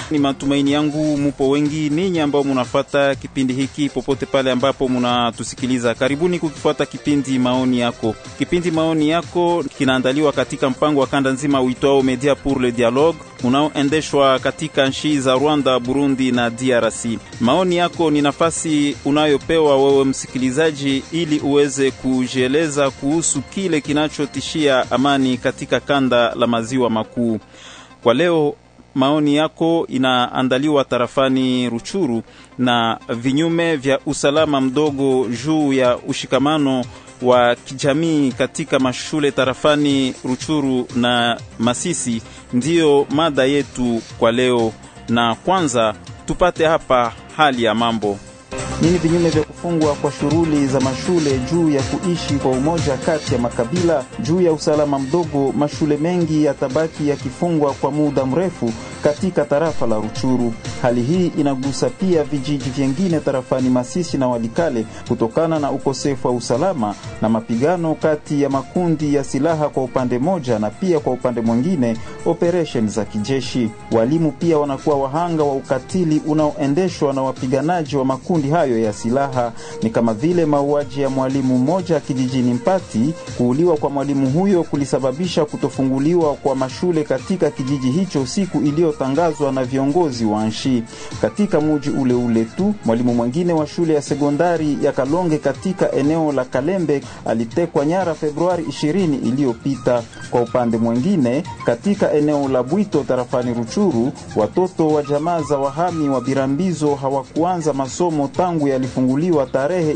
Ni matumaini yangu mupo wengi ninyi ambao munafuata kipindi hiki popote pale ambapo munatusikiliza. Karibuni kukifuata kipindi maoni yako. Kipindi maoni yako kinaandaliwa katika mpango wa kanda nzima uitwao Media pour le Dialogue, unaoendeshwa katika nchi za Rwanda, Burundi na DRC. Maoni yako ni nafasi unayopewa wewe msikilizaji ili uweze kujieleza kuhusu kile kinachotishia amani katika kanda la maziwa makuu. Kwa leo maoni yako inaandaliwa tarafani Ruchuru na vinyume vya usalama mdogo juu ya ushikamano wa kijamii katika mashule tarafani Ruchuru na Masisi ndiyo mada yetu kwa leo. Na kwanza tupate hapa hali ya mambo. Nini vinyume vya kufungwa kwa shughuli za mashule juu ya kuishi kwa umoja kati ya makabila? Juu ya usalama mdogo, mashule mengi yatabaki yakifungwa kwa muda mrefu katika tarafa la Ruchuru. Hali hii inagusa pia vijiji vingine tarafani Masisi na Walikale kutokana na ukosefu wa usalama na mapigano kati ya makundi ya silaha kwa upande moja na pia kwa upande mwingine operation za kijeshi. Walimu pia wanakuwa wahanga wa ukatili unaoendeshwa na wapiganaji wa makundi hayo ya silaha. Ni kama vile mauaji ya mwalimu mmoja kijijini Mpati. Kuuliwa kwa mwalimu huyo kulisababisha kutofunguliwa kwa mashule katika kijiji hicho siku iliyotangazwa na viongozi wa nchi. Katika mji ule ule tu, mwalimu mwingine wa shule ya sekondari ya Kalonge katika eneo la Kalembe alitekwa nyara Februari 20 iliyopita. Kwa upande mwingine, katika eneo la Bwito tarafani Ruchuru, watoto wa jamaa za wahami wa Birambizo hawakuanza masomo tangu yalifunguliwa tarehe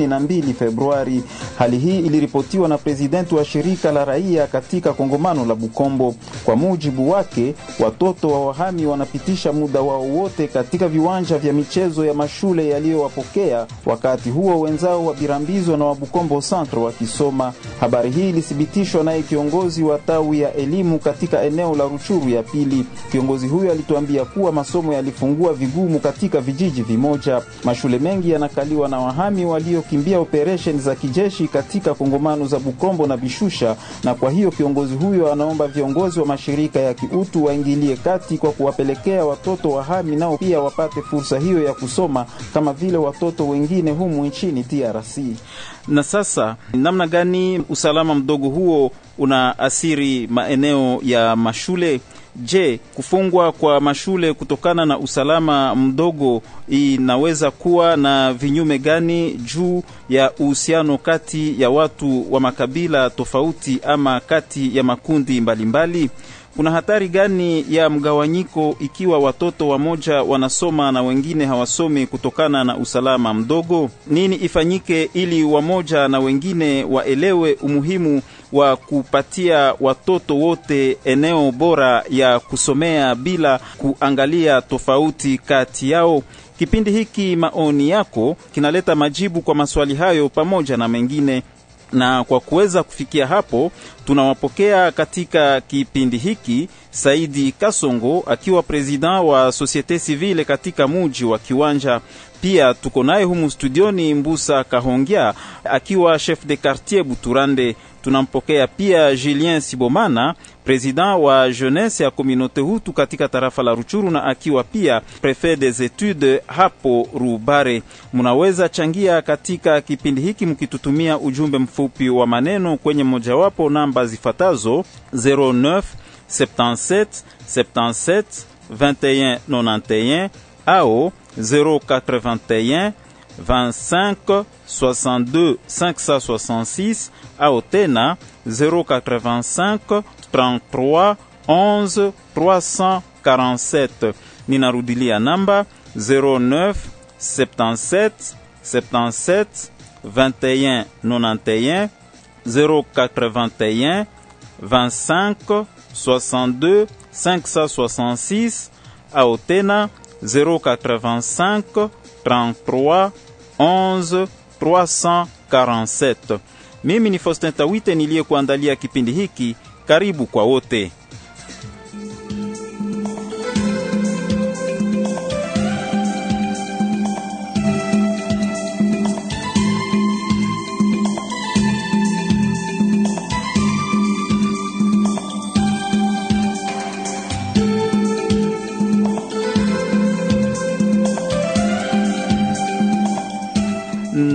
22 Februari. Hali hii iliripotiwa na presidenti wa shirika la raia katika kongamano la Bukombo. Kwa mujibu wake, watoto wa wahami wanapitisha muda wao wote katika viwanja vya michezo ya mashule yaliyowapokea, wakati huo wenzao wa Birambizo na wa Bukombo Centre wakisoma. Habari hii ilithibitishwa naye kiongozi wa tawi ya elimu katika eneo la Ruchuru ya pili. Kiongozi huyo alituambia kuwa masomo yalifungua vigumu katika vijiji vimoja. Mashule mengi yanakaliwa na wahami waliokimbia operation za kijeshi katika kongomano za Bukombo na Bishusha, na kwa hiyo kiongozi huyo anaomba viongozi wa mashirika ya kiutu waingilie kati kwa kuwapelekea watoto wahami nao pia wapate fursa hiyo ya kusoma kama vile watoto wengine humu nchini DRC. Na sasa namna gani usalama mdogo huo unaathiri maeneo ya mashule? Je, kufungwa kwa mashule kutokana na usalama mdogo inaweza kuwa na vinyume gani juu ya uhusiano kati ya watu wa makabila tofauti ama kati ya makundi mbalimbali? Kuna hatari gani ya mgawanyiko ikiwa watoto wamoja wanasoma na wengine hawasome kutokana na usalama mdogo? Nini ifanyike ili wamoja na wengine waelewe umuhimu wa kupatia watoto wote eneo bora ya kusomea bila kuangalia tofauti kati yao? Kipindi hiki maoni yako kinaleta majibu kwa maswali hayo pamoja na mengine. Na kwa kuweza kufikia hapo, tunawapokea katika kipindi hiki Saidi Kasongo akiwa president wa Societe Civile katika mji wa Kiwanja. Pia tuko naye humu studioni Mbusa Kahongia akiwa chef de quartier Buturande. Tunampokea pia Julien Sibomana, president wa jeunesse ya communauté Hutu katika tarafa la Ruchuru na akiwa pia prefet des études hapo Rubare. Munaweza changia katika kipindi hiki mkitutumia ujumbe mfupi wa maneno kwenye mojawapo namba zifatazo 09 77 77 21 91 au 081 25 62 566 au tena 085 33 11 347. Ninarudilia namba 09 77 77 21 91 081 25 62 566 au tena 085 33 11 347. Mimi ni Faustin Tawite niliyekuandalia kipindi hiki. Karibu kwa wote.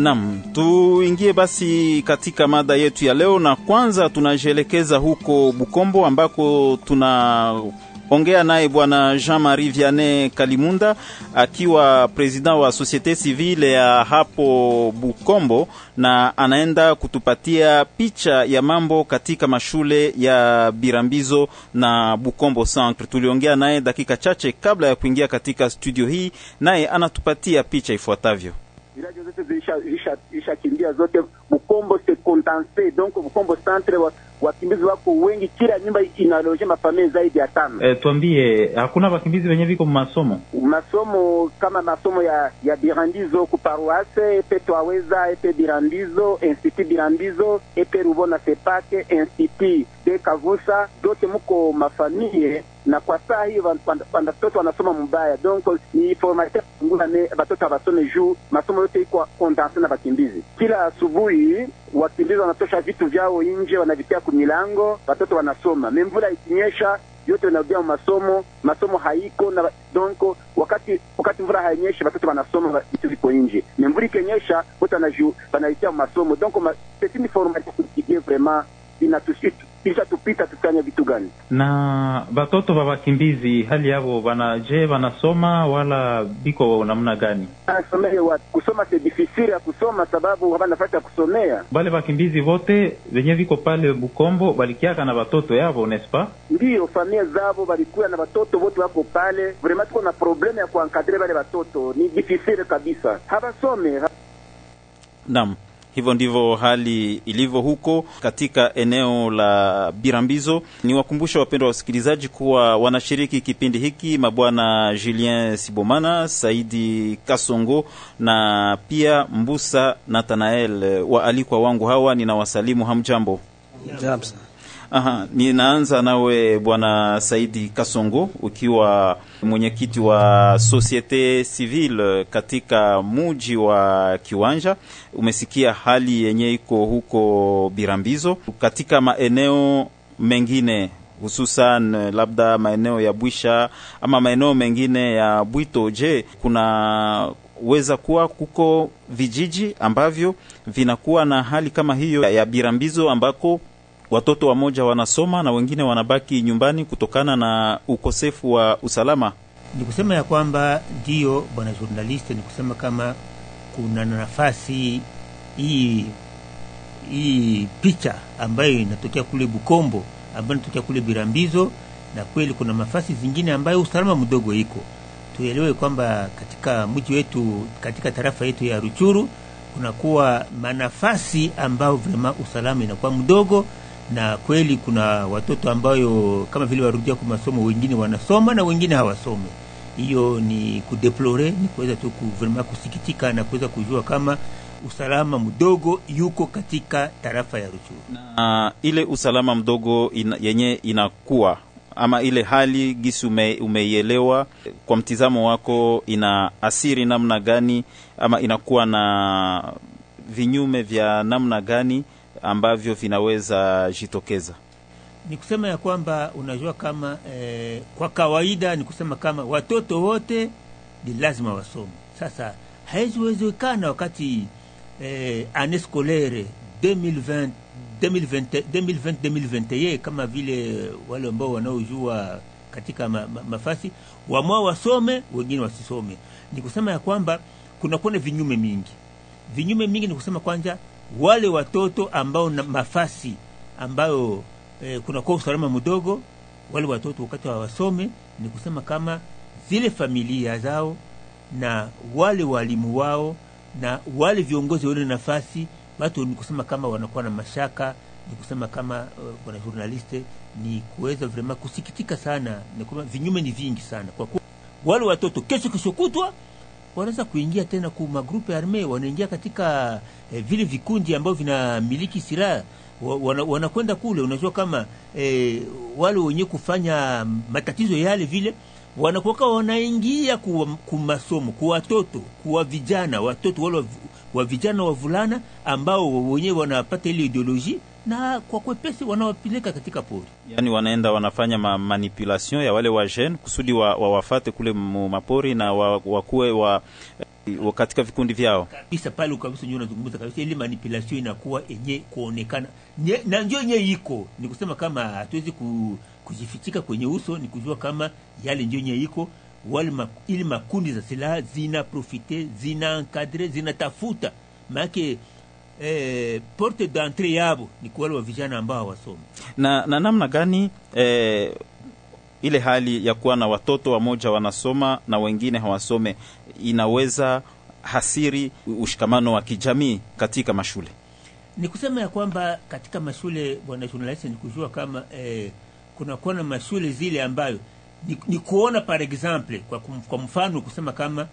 Naam, tuingie basi katika mada yetu ya leo, na kwanza tunajielekeza huko Bukombo ambako tunaongea naye bwana Jean-Marie Vianney Kalimunda akiwa president wa Societe Civile ya hapo Bukombo, na anaenda kutupatia picha ya mambo katika mashule ya Birambizo na Bukombo Centre. Tuliongea naye dakika chache kabla ya kuingia katika studio hii, naye anatupatia picha ifuatavyo. Villages zote zishakimbia zote. Bukombo se contense, donc Bukombo Centre wakimbizi wako wengi, kila nyumba inaloje mafamilia zaidi ya 5. Tuambie, hakuna wakimbizi wenye viko masomo kama masomo ya Birambizo ku paroisse epe Twaweza epe Birambizo, Institut Birambizo epe Rubona Sepake, Institut de Kavusa, dote muko mafamilia, na kwa saa hii watoto wanasoma mbaya, donc ni formateur ngula ne watoto basome juu masomo yote iko condense na wakimbizi. Kila asubuhi wakimbizi wanatosha vitu vyao nje, wanavitia kumilango, watoto wanasoma. Mvula ikinyesha yote wanarudia masomo haiko, na donc wakati mvula hainyesha watoto wanasoma vitu viko nje. Mvula ikinyesha wote wanaitia masomo, donc c'est une formation qui est vraiment kisha tupita tutanya vitu gani. Na batoto ba wakimbizi hali yao wanasoma wala biko namna gani? Kusoma c'est difficile ya kusoma sababu hapana nafasi ya kusomea. Bale wakimbizi wote wenye viko pale Bukombo balikiaka na batoto yao, n'est-ce pas? Ndio, familia zao balikuwa na batoto wote wako pale. Vraiment tuko na problème ya kuencadrer wale batoto, ni difficile kabisa. Habasome. Naam. Hivyo ndivyo hali ilivyo huko katika eneo la Birambizo. Ni wakumbusha wapendwa wasikilizaji kuwa wanashiriki kipindi hiki mabwana Julien Sibomana, Saidi Kasongo na pia Mbusa Nathanael. Waalikwa wangu hawa ninawasalimu, hamjambo. Jambo. Ninaanza nawe bwana Saidi Kasongo, ukiwa mwenyekiti wa Societe Civile katika muji wa Kiwanja. Umesikia hali yenye iko huko Birambizo, katika maeneo mengine hususan labda maeneo ya Bwisha ama maeneo mengine ya Bwito. Je, kuna weza kuwa kuko vijiji ambavyo vinakuwa na hali kama hiyo ya Birambizo ambako watoto wamoja wanasoma na wengine wanabaki nyumbani kutokana na ukosefu wa usalama? Ni kusema ya kwamba ndio bwana journalist, ni kusema kama kuna nafasi hii picha ambayo inatokea kule Bukombo, ambayo inatokea kule Birambizo, na kweli kuna nafasi zingine ambayo usalama mdogo iko. Tuelewe kwamba katika mji wetu, katika tarafa yetu ya Ruchuru, kuna kuwa manafasi ambao vraiment usalama inakuwa mdogo, na kweli kuna watoto ambayo kama vile warudia kwa masomo, wengine wanasoma na wengine hawasome. Hiyo ni kudeplore, ni kuweza tu vraiment kusikitika na kuweza kujua kama usalama mdogo yuko katika tarafa ya Ruchuru. Na ile usalama mdogo yenye inakuwa ama ile hali gisi umeielewa, kwa mtizamo wako ina asiri namna gani ama inakuwa na vinyume vya namna gani ambavyo vinaweza jitokeza? Ni kusema ya kwamba unajua kama kwa kawaida ni kusema kama watoto wote ni lazima wasome. Sasa haiwezekana wakati année scolaire 2020-2021 kama vile wale ambao wanaojua katika mafasi wamwa wasome, wengine wasisome. Ni kusema ya kwamba kuna vinyume mingi. Vinyume mingi ni kusema kwanza wale watoto ambao na mafasi ambayo kuna kwa usalama mdogo, wale watoto wakati wasome, ni kusema kama zile familia zao na wale walimu wao na wale viongozi wale nafasi watu, ni kusema kama wanakuwa na mashaka. Ni kusema kama bwana journaliste, ni kuweza vraiment kusikitika sana, ni kama vinyume ni vingi sana, kwa kuwa wale watoto kesho kutwa wanaweza kuingia tena kwa magrupu ya arme, wanaingia katika vile vikundi ambao vinamiliki silaha, wanakwenda kule. Unajua kama wale wenye kufanya matatizo yale vile wanakuwa wanaingia kwa masomo, kwa watoto, kwa vijana, watoto wale wa vijana wavulana ambao wenyewe wanapata ile ideology na kwa kwepesi wanawapeleka katika pori. Yani wanaenda wanafanya manipulation ya wale wa jeune kusudi wafate kule mapori na wakuwe katika vikundi vyao kabisa. Pale kabisa ndio unazungumza kabisa, ile manipulation inakuwa yenye kuonekana na ndio yenye iko, ni kusema kama hatuwezi kujifichika kwenye uso, ni kujua kama yale ndio yenye iko. Wale ili makundi za silaha zina profite, zina encadre, zina tafuta maana porte d'entrée yabo ni kwa wale vijana ambao hawasome. Na namna gani ile hali ya kuwa na watoto wamoja wanasoma na wengine hawasome inaweza hasiri ushikamano wa kijamii katika mashule? Ni kusema ya kwamba katika mashule, bwana journalist, ni kujua kama kuna kuona mashule zile ambayo ni kuona par exemple kwa mfano kusema kama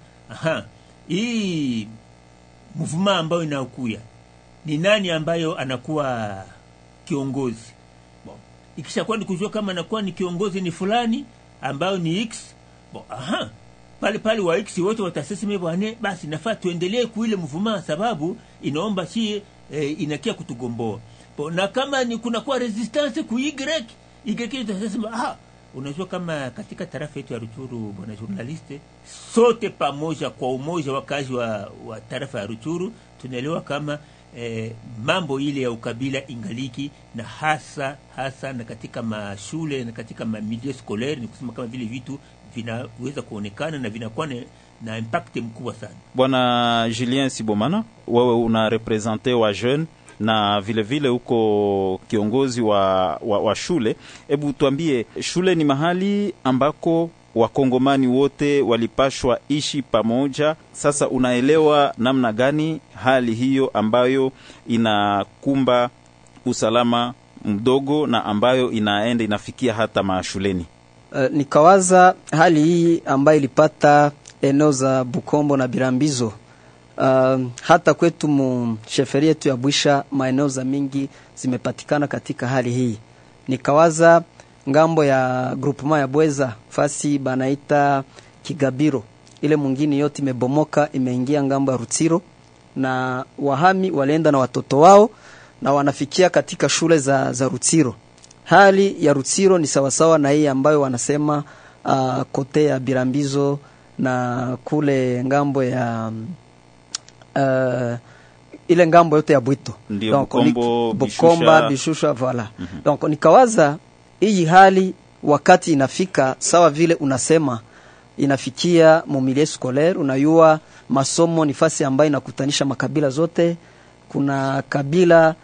hii movement ambayo inaokuya ni nani ambayo anakuwa kiongozi. Bon, ikishakuwa ni kujua kama anakuwa ni kiongozi ni fulani ambayo ni X. Bon, pale wa X wote watasema bwana, basi nafaa tuendelee kuile movement sababu inaomba si inakia kutugomboa. Bon, na kama ni kuna kwa resistance ku Y tutasema unajua kama katika tarafa yetu ya Rutshuru, bwana journaliste, sote pamoja kwa umoja wakazi wa tarafa ya Rutshuru tunaelewa kama mambo ile ya ukabila ingaliki, na hasa na katika mashule na katika milieu scolaire, ni kusema kama vile vitu vinaweza kuonekana na vinakuwa na impact mkubwa sana. Bwana Julien Sibomana, wewe una representer wa jeune na vile uko kiongozi wa shule. Hebu tuambie, shule ni mahali ambako wakongomani wote walipashwa ishi pamoja. Sasa unaelewa namna gani hali hiyo ambayo inakumba usalama mdogo na ambayo inafikia hata mashuleni? Nikawaza hali hii ambayo ilipata eneo za Bukombo na Birambizo, hata kwetu sheferi yetu ya Bwisha maeneo za mingi zimepatikana katika hali hii. Nikawaza ngambo ya groupement ya Bweza fasi banaita Kigabiro, ile mwingine yote imebomoka, imeingia ngambo ya Rutsiro, na wahami walienda na watoto wao na wanafikia katika shule za Rutsiro. Hali ya Rutsiro ni sawasawa na hii ambayo wanasema kote ya Birambizo na kule ngambo ya ile ngambo yote ya Bwito, donc Bukomba, Bishusha, voilà. Donc nikawaza hii hali wakati inafika sawa vile unasema inafikia milieu scolaire, unayua masomo ni fasi ambayo inakutanisha makabila zote. Kuna kabila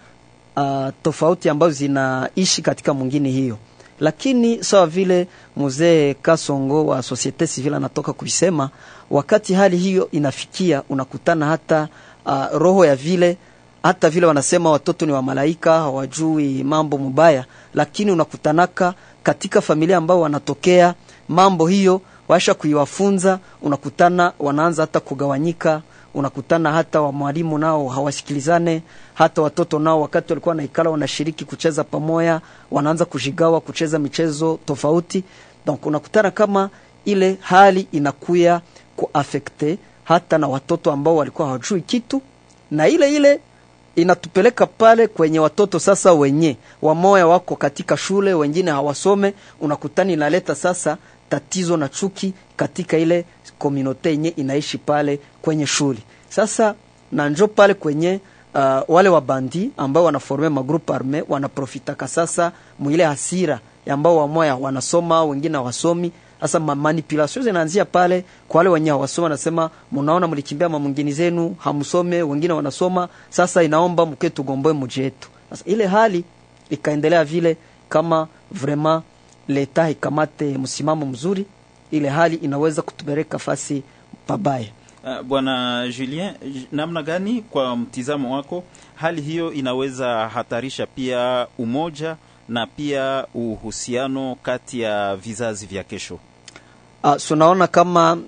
tofauti ambazo zinaishi katika mwingine hiyo, lakini sawa vile mzee Kasongo wa societe civile anatoka kuisema, wakati hali hiyo inafikia unakutana hata roho ya vile, hata vile wanasema watoto ni wa malaika hawajui mambo mubaya, lakini unakutanaka katika familia ambao wanatokea mambo hiyo washa kuiwafunza, unakutana wanaanza hata kugawanyika, unakutana hata wa mwalimu nao hawasikilizane, hata watoto nao wakati walikuwa naikala wanashiriki kucheza pamoja wanaanza kujigawa kucheza michezo tofauti. Donc unakutana kama ile hali inakuya kuaffecte hata na watoto ambao walikuwa hawajui kitu, na ile inatupeleka pale kwenye watoto sasa wenye wamoya wako katika shule wengine hawasome, unakutani inaleta sasa tatizo na chuki katika ile community yenye inaishi pale kwenye shule. Sasa na njo pale kwenye wale wabandi ambao wanaforme magroup arme wanaprofitaka sasa mwile hasira ambao wamoya wanasoma wengine hawasomi. Sasa manipulation zinaanzia pale kwa wale wenye hawasoma, nasema mnaona mlikimbia mwingine zenu hamsome, wengine wanasoma, sasa inaomba mketu gomboe mji wetu. Sasa ile hali ikaendelea vile, kama vraiment leta ikamate msimamo mzuri, ile hali inaweza kutupeleka fasi pabaya. Bwana Julien, namna gani kwa mtizamo wako hali hiyo inaweza hatarisha pia umoja na pia uhusiano kati ya vizazi vya kesho? Tunaona kama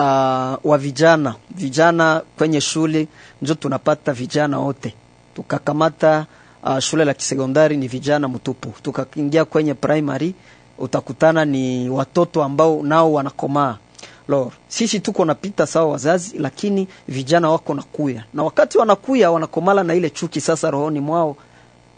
wa vijana kwenye shule ndio tunapata vijana wote. Tukakamata shule la kisekondari ni vijana mtupu, tukaingia kwenye primary utakutana ni watoto ambao nao wanakomaa. Lord, sisi tuko napita sawa wazazi, lakini vijana wako nakuya, na wakati wanakuya wanakomala na ile chuki sasa rohoni mwao,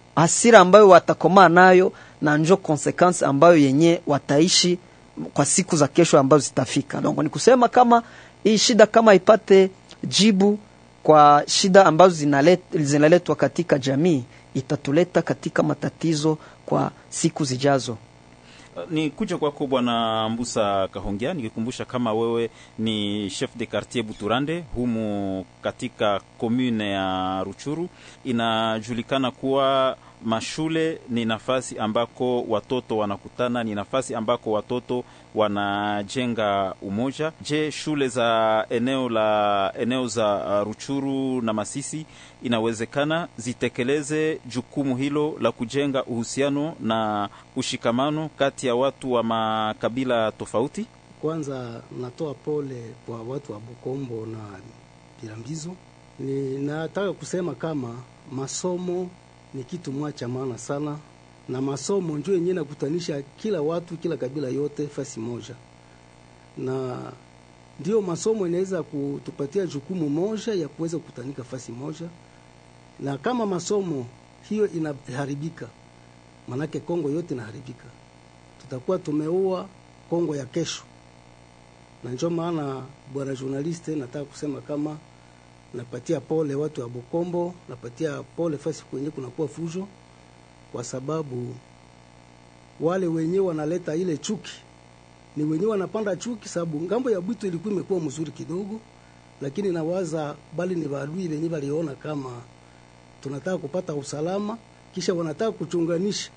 hasira ambayo watakomaa nayo, na njo consequence ambayo yenye wataishi kwa siku za kesho ambazo zitafika. Donc ni kusema kama hii shida kama ipate jibu kwa shida ambazo zinaletwa katika jamii, itatuleta katika matatizo kwa siku zijazo. Ni kuja kwako Bwana Mbusa Kahongya, nikikumbusha kama wewe ni chef de quartier Buturande humu katika commune ya Ruchuru. Inajulikana kuwa mashule ni nafasi ambako watoto wanakutana, ni nafasi ambako watoto wanajenga umoja. Je, shule za eneo za Ruchuru na Masisi inawezekana zitekeleze jukumu hilo la kujenga uhusiano na ushikamano kati ya watu wa makabila tofauti? Kwanza natoa pole kwa watu wa Bukombo na Birambizo. Nataka kusema kama masomo ni kitu mwacha maana sana, na masomo ndio yenyewe nakutanisha kila watu, kila kabila yote fasi moja, na ndio masomo inaweza kutupatia jukumu moja ya kuweza kukutanika fasi moja. Na kama masomo hiyo inaharibika, manake Kongo yote inaharibika, tutakuwa tumeua Kongo ya kesho. Na ndio maana bwana journaliste, nataka kusema kama napatia pole watu wa Bukombo, napatia pole fasi kwenye kunakuwa fujo, kwa sababu wale wenyewe wanaleta ile chuki, ni wenyewe wanapanda chuki. Sababu ngambo ya Bwito ilikuwa imekuwa mzuri kidogo, lakini nawaza bali ni badui wenyewe waliona kama tunataka kupata usalama, kisha wanataka kuchunganisha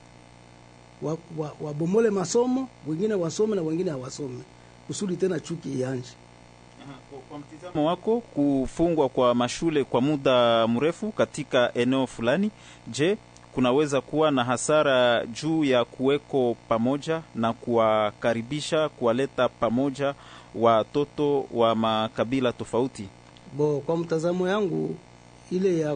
wabomole masomo, wengine wasome na wengine hawasome, kusudi tena chuki ianje. Kwa mtizamo wako, kufungwa kwa mashule kwa muda mrefu katika eneo fulani, je, kunaweza kuwa na hasara juu ya kuweko pamoja na kuwakaribisha, kuwaleta pamoja watoto wa makabila tofauti? Kwa mtazamo yangu, ile ya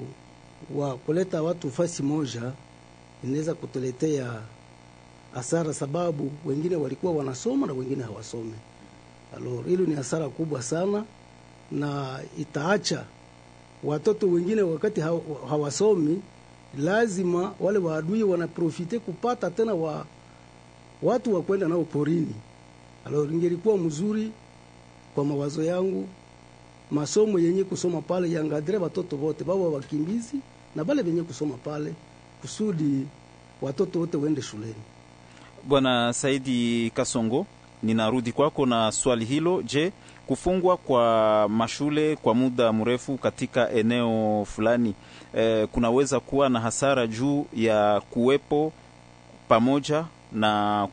kuleta watu fasi moja inaweza kutuletea hasara, sababu wengine walikuwa wanasoma na wengine hawasome. Hilo ni hasara kubwa sana, na itaacha watoto wengine wakati hawasomi, lazima wale waadui wanaprofite kupata tena watu wa kwenda nao porini. Ingelikuwa mzuri kwa mawazo yangu, masomo yenye kusoma pale yangadre watoto wote, baba wakimbizi na bale wenye kusoma pale, kusudi watoto wote waende shuleni. Bwana Saidi Kasongo, ninarudi kwako na swali hilo. Je, kufungwa kwa mashule kwa muda mrefu katika eneo fulani kunaweza kuwa na hasara juu ya kuwepo pamoja na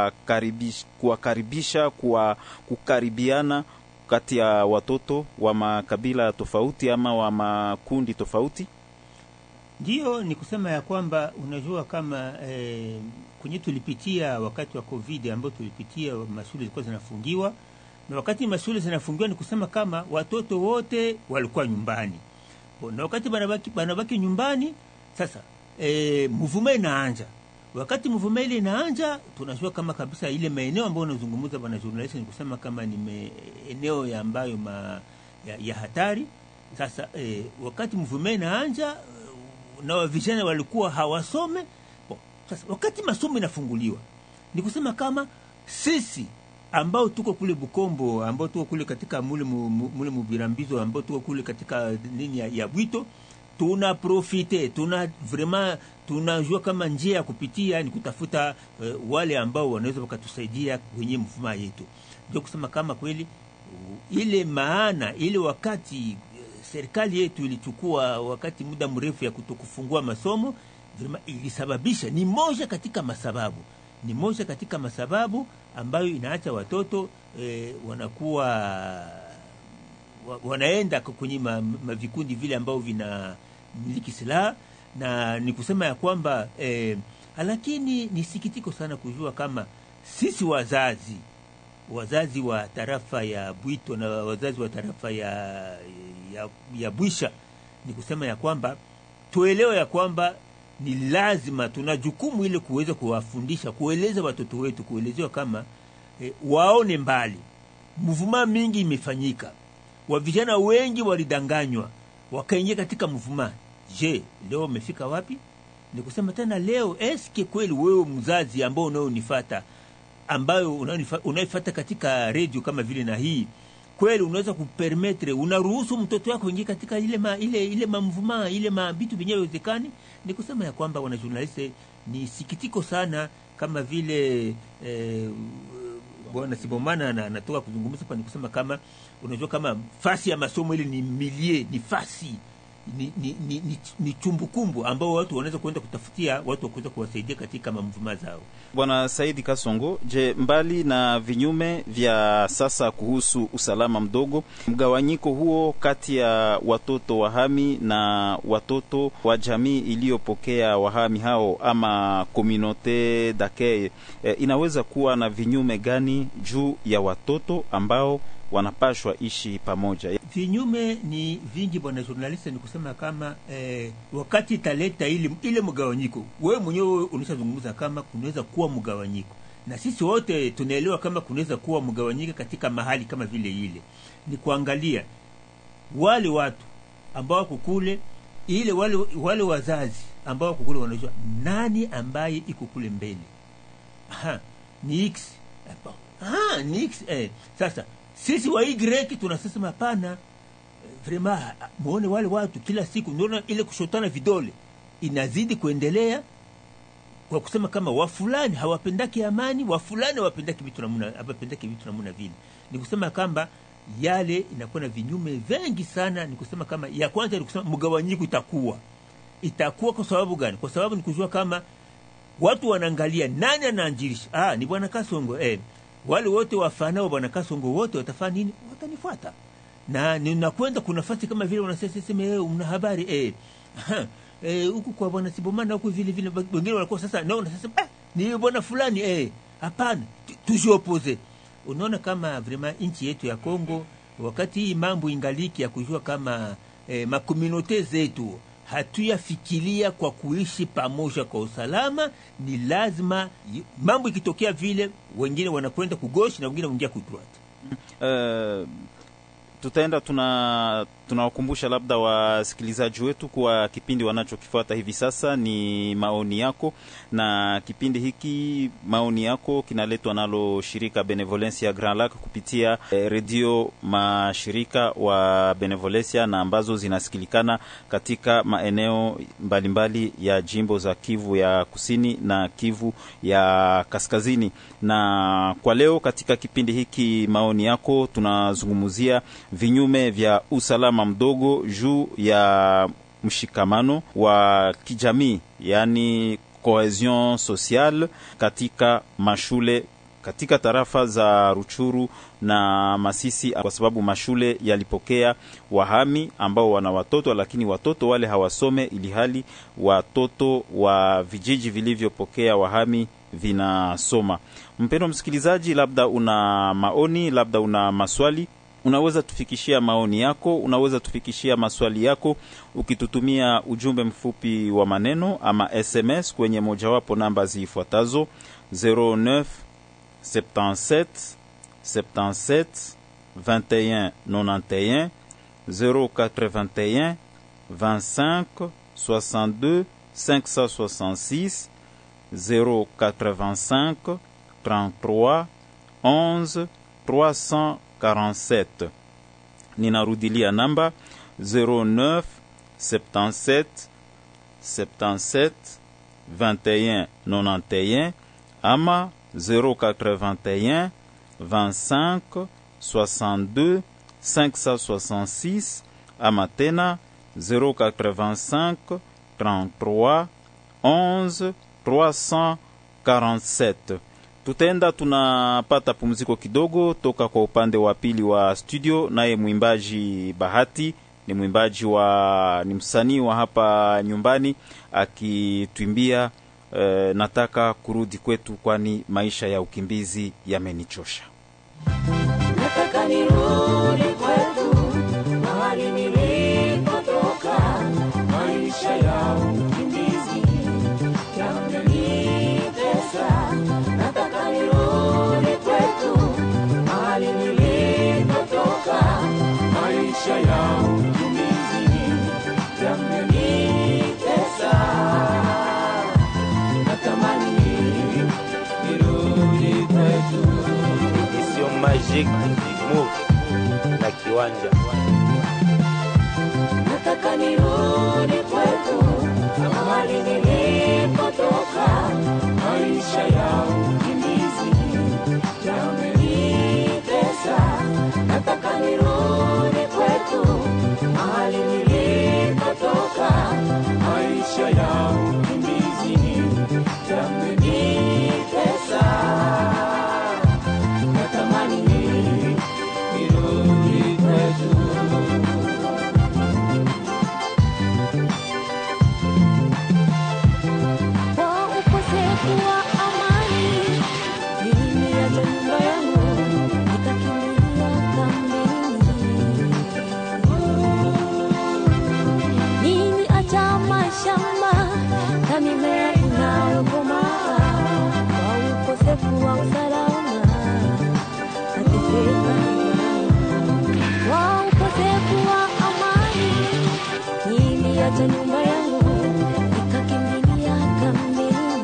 kuwakaribisha kukaribiana kati ya watoto wa makabila tofauti ama wa makundi tofauti? Ndio, ni kusema ya kwamba unajua kama kwenye tulipitia wakati wa COVID ambao tulipitia mashule zilikuwa zinafungiwa, na wakati mashule zinafungiwa ni kusema kama watoto wote walikuwa nyumbani. Na wakati banabaki nyumbani, sasa mvuma inaanza. Wakati mvuma ile inaanza, tunajua kama kabisa ile maeneo ambayo unazungumza bwana journalist, ni kusema kama ni eneo ya ambayo ya hatari. Sasa wakati mvuma inaanza na vijana walikuwa hawasome. Sasa wakati masomo inafunguliwa, ni kusema kama sisi ambao tuko kule Bukombo, ambao tuko kule katika mule Mubirambizo, ambao tuko kule katika nini ya Bwito, tuna profite, tunajua kama njia ya kupitia ni kutafuta wale ambao wanaweza wakatusaidia kwenye mfumo yetu. Ndio kusema kama kweli ile maana ile wakati serikali yetu ilichukua wakati muda mrefu ya kutokufungua masomo, ilisababisha ni moja katika masababu ambayo inaacha watoto wanakuwa wanaenda kwenye mavikundi vile ambao vina miliki silaha. Na ni kusema ya kwamba lakini ni sikitiko sana kujua kama sisi wazazi wa tarafa ya Bwito na wazazi wa tarafa ya Bwisha, ni kusema ya kwamba tuelewe ya kwamba ni lazima tuna jukumu ile kuweza kuwafundisha, kueleza watoto wetu, kuelezewa kama waone mbali. Mvuma mingi imefanyika, wa vijana wengi walidanganywa wakaingia katika mvuma. Je, leo wamefika wapi? Ni kusema tena leo, eske kweli wewe mzazi ambao unaonifuata, ambayo unaifuata katika radio kama vile na hii, kweli unaweza kupermettre, unaruhusu mtoto wako ingie katika ile mamvuma ile mabitu vyenyewe wezekani? Ni kusema ya kwamba wana journaliste, ni sikitiko sana kama vile bwana Sibomana anatoka kuzungumza hapa. Ni kusema kama unajua kama fasi ya masomo ile ni milie, ni fasi ni chumbukumbu ambao watu wanaweza kwenda kutafutia watu wa kuweza kuwasaidia katika mamvuma zao. Bwana Saidi Kasongo, je, mbali na vinyume vya sasa kuhusu usalama mdogo, mgawanyiko huo kati ya watoto wahami na watoto wa jamii iliyopokea wahami hao ama communauté d'accueil inaweza kuwa na vinyume gani juu ya watoto ambao wanapashwa ishi pamoja? Vinyume ni vingi bwana journaliste. Ni kusema kama wakati italeta ile mgawanyiko, wewe mwenyewe unashazungumza kama kunaweza kuwa mgawanyiko, na sisi wote tunaelewa kama kunaweza kuwa mgawanyiko katika mahali kama vile ile. Ni kuangalia wale watu ambao kukule ile wale wazazi ambao kukule wanajua nani ambaye iko kule mbele. Ni X. Ni X. Sasa sisi wa Y tunasema hapana, vraiment muone wale watu kila siku ndio ile kushotana vidole inazidi kuendelea, kwa kusema kama wafulani hawapendaki amani, wafulani hawapendaki vitu namna vile. Ni kusema kama yale inakuwa na vinyume vingi sana. Ni kusema kama ya kwanza ni kusema mgawanyiko itakuwa kwa sababu gani? Kwa sababu ni kujua kama watu wanaangalia nani anaanjirisha. Ni bwana Kasongo, wale wote wafanao bwana Kasongo wote watafanya nini? Watanifuata. Na ninakwenda kuna nafasi kama vile wanasema una habari huku kwa bwana Sibomana huku vile wengine walikuwa sasa nao wanasema ni bwana fulani hapana, tujiopose. Unaona kama vraiment nchi yetu ya Kongo wakati hii mambo ingaliki ya kujua kama makomunote zetu hatuyafikiria kwa kuishi pamoja kwa usalama, ni lazima mambo ikitokea vile wengine wanakwenda kugoshi na wengine wanaingia kudroite. Tutaenda tunawakumbusha labda wasikilizaji wetu kwa kipindi wanachokifuata hivi sasa ni maoni yako, na kipindi hiki maoni yako kinaletwa nalo shirika Benevolencia Grand Lac kupitia radio mashirika wa Benevolencia na ambazo zinasikilikana katika maeneo mbalimbali ya jimbo za Kivu ya Kusini na Kivu ya Kaskazini. Na kwa leo katika kipindi hiki maoni yako tunazungumzia vinyume vya usalama mdogo juu ya mshikamano wa kijamii, yani cohesion sociale katika mashule katika tarafa za Ruchuru na Masisi, kwa sababu mashule yalipokea wahami ambao wana watoto, lakini watoto wale hawasome, ili hali watoto wa vijiji vilivyopokea wahami vinasoma. Mpendwa msikilizaji, labda una maoni, labda una maswali, unaweza tufikishia maoni yako, unaweza tufikishia maswali yako ukitutumia ujumbe mfupi wa maneno ama SMS kwenye mojawapo namba zifuatazo 09 77 77 21 91 081 25 62 566 085 33 11 347. Ninarudilia namba 09 77 77 21 91 ama 081 25 62 566 ama tena 085 33 11 347. Tutenda tunapata pumziko kidogo toka kwa upande wa pili wa studio, naye mwimbaji Bahati ni mwimbaji ni msanii wa hapa nyumbani akituimbia nataka kurudi kwetu kwani maisha ya ukimbizi yamenichosha. Nataka nirudi kwetu mahali nilipotoka, maisha ya ukimbizi yamenitesa. Nataka nirudi kwetu mahali nilipotoka, maisha ya ukimbizi yamenitesa. Magic Move na Kiwanja. Nataka nirudi kwetu mahali nilipotoka, maisha ya ukimbizi yamenitesa. Nataka nirudi kwetu mahali nilipotoka, maisha ya ukimbizi yamenitesa. Natamani nirudi kwetu. Nyumba yangu nikakimbilia kambini,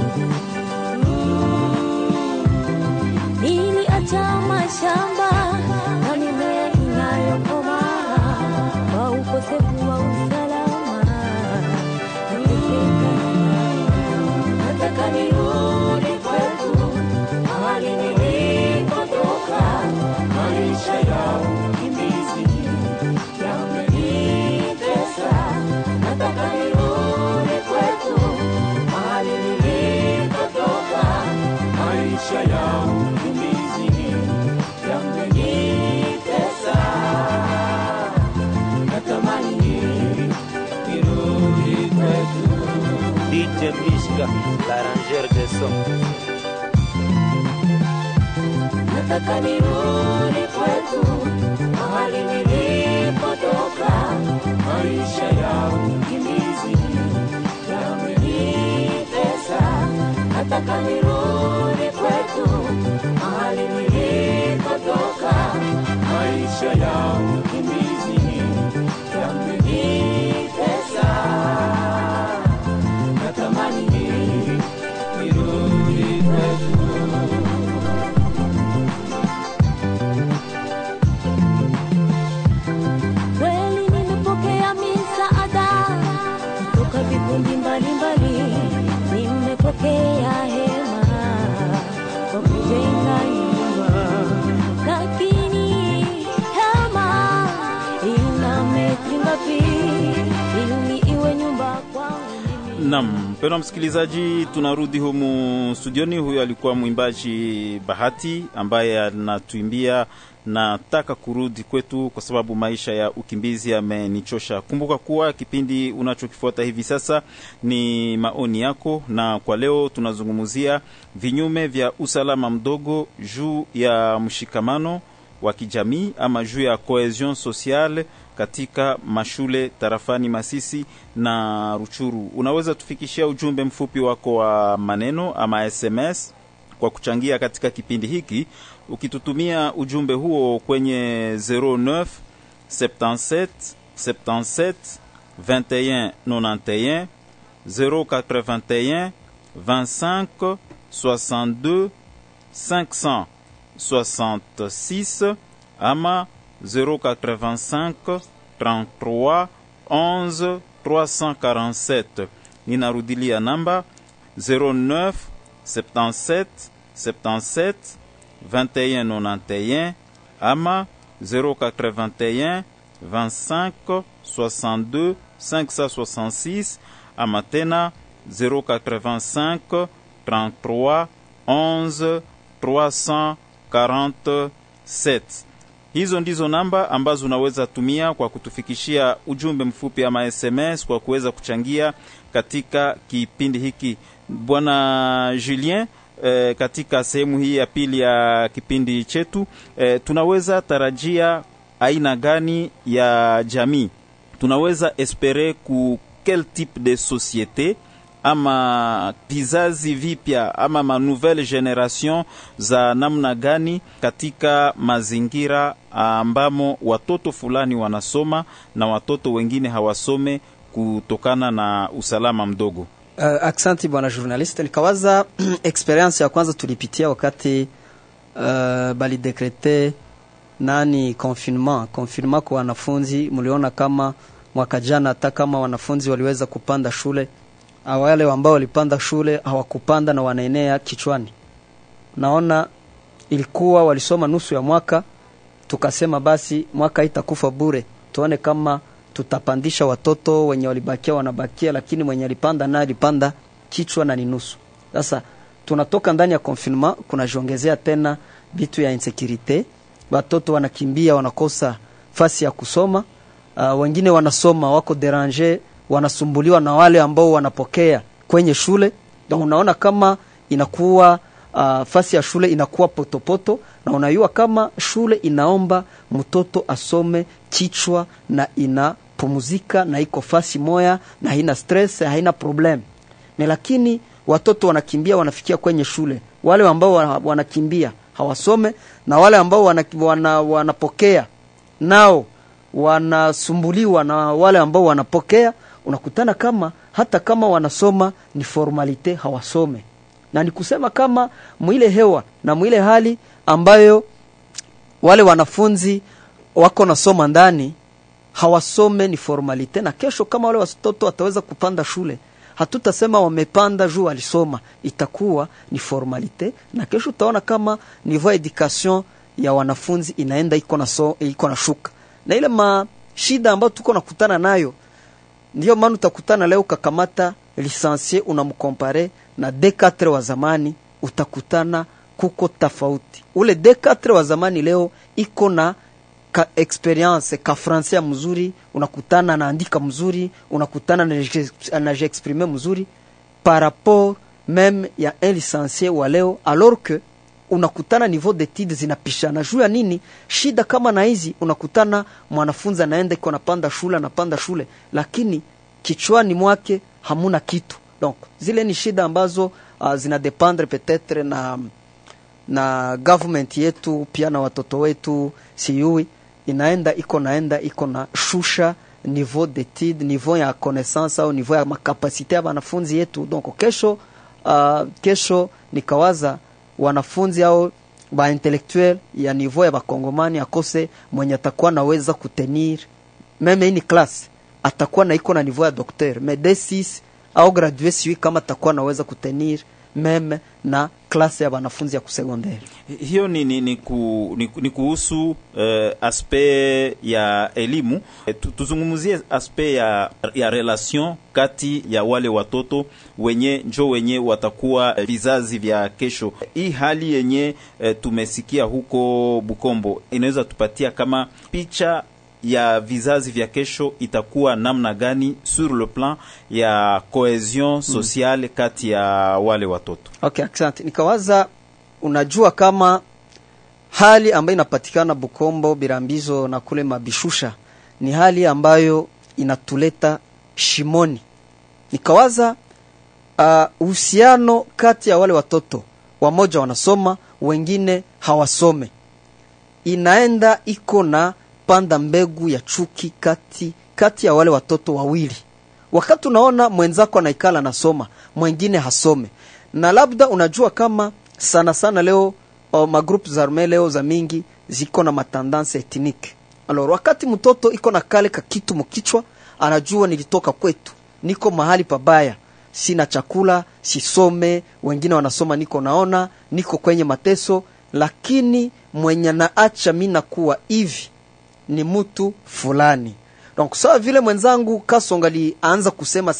niliacha mashamba na mimea inayokomaa kwa ukosefu wa usalama. Nataka nirudi kwetu mahali nilipotoka, maisha ya ukimbizi yamenitesa. Nataka nirudi kwetu mahali nilipotoka, maisha ya ukimbizi yamenitesa. Natamani nirudi kwetu. DJ Mishka, l'arrangeur de son. Nataka nirudi kwetu mahali nilipotoka, maisha ya ukimbizi yamenitesa. Nataka nirudi kwetu mahali nilipotoka, maisha ya ukimbizi yamenitesa. Natamani nirudi kwetu. Kweli nimepokea misaada kutoka vikundi mbalimbali, nimepokea hema kwa kujenga nyumba, lakini hema ina metri ngapi ili iwe nyumba kwangu? Naam, mpendwa msikilizaji, tunarudi humu studioni. Huyo alikuwa mwimbaji Bahati ambaye anatuimbia nataka kurudi kwetu kwa sababu maisha ya ukimbizi yamenichosha. Kumbuka kuwa kipindi unachokifuata hivi sasa ni maoni yako, na kwa leo tunazungumzia vinyume vya usalama mdogo juu ya mshikamano wa kijamii ama juu ya cohesion sociale katika mashule tarafani Masisi na Ruchuru. Unaweza tufikishia ujumbe mfupi wako wa maneno ama SMS kwa kuchangia katika kipindi hiki, ukitutumia ujumbe huo kwenye 09 77 77 21 91 081 25 62 566 ama 085 33 11 347. Ninarudilia namba 09 77 77 21 91 ama 081 25 62 566 ama tena 085 33 11 347. Hizo ndizo namba ambazo unaweza tumia kwa kutufikishia ujumbe mfupi ama SMS kwa kuweza kuchangia katika kipindi hiki. Bwana Julien, katika sehemu hii ya pili ya kipindi chetu, tunaweza tarajia aina gani ya jamii? Tunaweza espere ku quel type de société ama vizazi vipya ama ma nouvelle generation za namna gani katika mazingira ambamo watoto fulani wanasoma na watoto wengine hawasome kutokana na usalama mdogo? Aksanti bwana journalist, nikawaza experience ya kwanza tulipitia wakati bali dekrete confinement kwa wanafunzi. Mliona kama mwaka jana hata kama wanafunzi waliweza kupanda shule, wale ambao walipanda shule hawakupanda na wanaenea kichwani. Naona ilikuwa walisoma nusu ya mwaka, tukasema basi mwaka itakufa bure, tuone kama tutapandisha watoto wenye walibakia wanabakia, lakini mwenye alipanda na alipanda kichwa na ni nusu. Sasa tunatoka ndani ya confinement, kuna jiongezea tena vitu ya insecurity. Watoto wanakimbia, wanakosa fasi ya kusoma. Wengine wanasoma wako deranger, wanasumbuliwa na wale ambao wanapokea kwenye shule. Donc unaona kama inakuwa fasi ya shule inakuwa potopoto, na unayua kama shule inaomba mtoto asome kichwa na inapumzika na iko fasi moya na haina stress, haina problem. Na lakini watoto wanakimbia, wanafikia kwenye shule, wale ambao wanakimbia hawasome, na wale ambao wanapokea nao wanasumbuliwa na wale ambao wanapokea. Unakutana kama hata kama wanasoma ni formalite, hawasome. Na ni kusema kama mwile hewa na mwile hali ambayo wale wanafunzi wako nasoma ndani hawasome ni formalite, na kesho kama wale watoto wataweza kupanda shule, hatutasema wamepanda juu alisoma, itakuwa ni formalite. Na kesho utaona kama niveau education ya wanafunzi inaenda iko na shuka. Na ile shida ambayo tuko nakutana nayo, ndio maana utakutana leo kakamata licencié unamkompare na D4 wa zamani, utakutana kuko tofauti. Ule D4 wa zamani leo iko na experience ka français mzuri, unakutana na andika mzuri, unakutana na j'exprimer mzuri par rapport même ya un licencié wa leo, alors que unakutana niveau d'études zinapishana. Juu ya nini? Shida kama na hizi, unakutana mwanafunzi anaenda iko napanda shule, lakini kichwani mwake hamuna kitu. Donc zile ni shida ambazo zinadependre peut-être na government yetu pia na watoto wetu. Siyui inaenda iko na shusha niveau d'études, niveau ya connaissance au niveau ya makapasite ya wanafunzi yetu. Donc kesho nikawaza wanafunzi au ba intellectuel ya niveau ya bakongomani akose mwenye atakuwa naweza kutenir meme ini class, atakuwa na iko na niveau ya docteur, mais D6 au gradué siwi kama atakuwa naweza kutenir meme na klase ya wanafunzi ya kusecondaire. Hiyo ni kuhusu aspect ya elimu. Tuzungumzie aspect ya relation kati ya wale watoto wenye watakuwa vizazi vya kesho. Hii hali yenye tumesikia huko Bukombo inaweza tupatia kama picha ya vizazi vya kesho itakuwa namna gani sur le plan ya cohesion sociale kati ya wale watoto? Okay, asante. Nikawaza, unajua kama hali ambayo inapatikana Bukombo, Birambizo na kule Mabishusha ni hali ambayo inatuleta shimoni. Nikawaza uhusiano kati ya wale watoto, wamoja wanasoma, wengine hawasome, inaenda iko na panda mbegu ya chuki kati ya wale watoto wawili. Wakati unaona mwenzako anaikala nasoma, mwingine hasome, na labda unajua kama sana leo magroup za arme leo za mingi ziko na matendance ethnique. Alors wakati mtoto iko na kale ka kitu mkichwa, anajua nilitoka kwetu, niko mahali pabaya, sina chakula, sisome, wengine wanasoma, niko kwenye mateso, lakini mwenye naacha mimi nakuwa hivi ni mtu fulani. Donc sawa vile mwenzangu Kasongali aanza kusema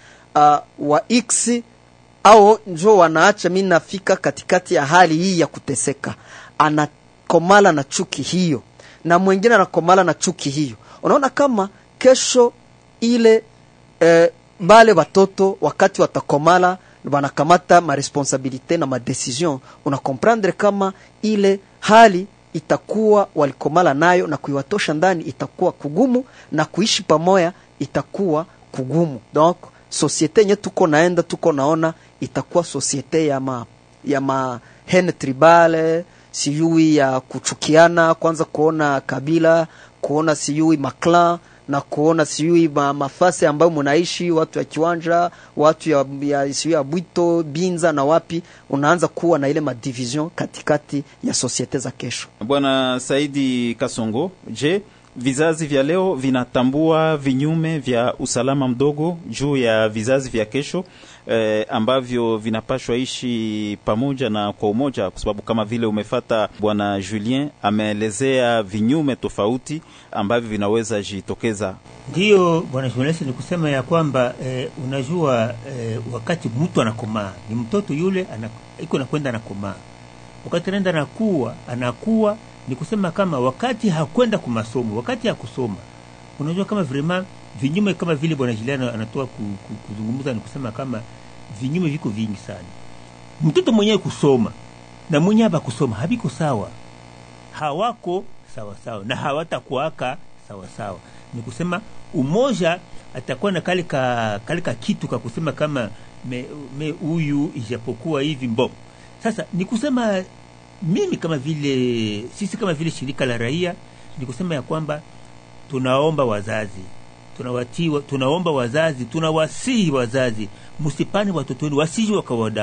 wa X au njo wanaacha mimi nafika katikati ya hali hii ya kuteseka, anakomala na chuki hiyo, na mwingine anakomala na chuki hiyo. Unaona kama kesho ile bale watoto wakati watakomala wanakamata ma responsabilité na ma decision, una comprendre kama ile hali itakuwa walikomala nayo, na kuiwatosha ndani itakuwa kugumu, na kuishi pamoja itakuwa kugumu. Donc societe yenye tuko naona itakuwa societe ya ma haine tribale, siyui ya kuchukiana, kwanza kuona kabila, kuona siyui maklan na kuona sijui mafasi ambayo mnaishi, watu ya Kiwanja, watu ya sijui ya Bwito, Binza na wapi, unaanza kuwa na ile madivision katikati ya societe za kesho. Bwana Saidi Kasongo, je, vizazi vya leo vinatambua vinyume vya usalama mdogo juu ya vizazi vya kesho ambavyo vinapashwa ishi pamoja na kwa umoja? Kwa sababu kama vile umefata Bwana Julien ameelezea vinyume tofauti ambavyo vinaweza jitokeza. Ndio Bwana Julien, ni kusema ya kwamba unajua wakati mtu anakomaa, ni mtoto yule iko nakwenda anakomaa, wakati anaenda anakuwa ni kusema kama wakati hakwenda kumasomo, wakati ya kusoma, unajua kama vraiment vinyume kama vile Bwana Juliana anatoa kuzungumza, ni kusema kama vinyume viko vingi sana. Mtoto mwenyewe kusoma na mwenyewe haba kusoma habiko sawa, hawako sawa sawa na hawatakuaka sawa sawa. Ni kusema umoja atakuwa na kalika kitu kwa kusema kama huyu ijapokuwa hivi mbo. Sasa ni kusema mimi kama vile sisi kama vile shirika la raia ni kusema ya kwamba tunaomba wazazi, tunawasihi wazazi, msipane watoto wenu, wasije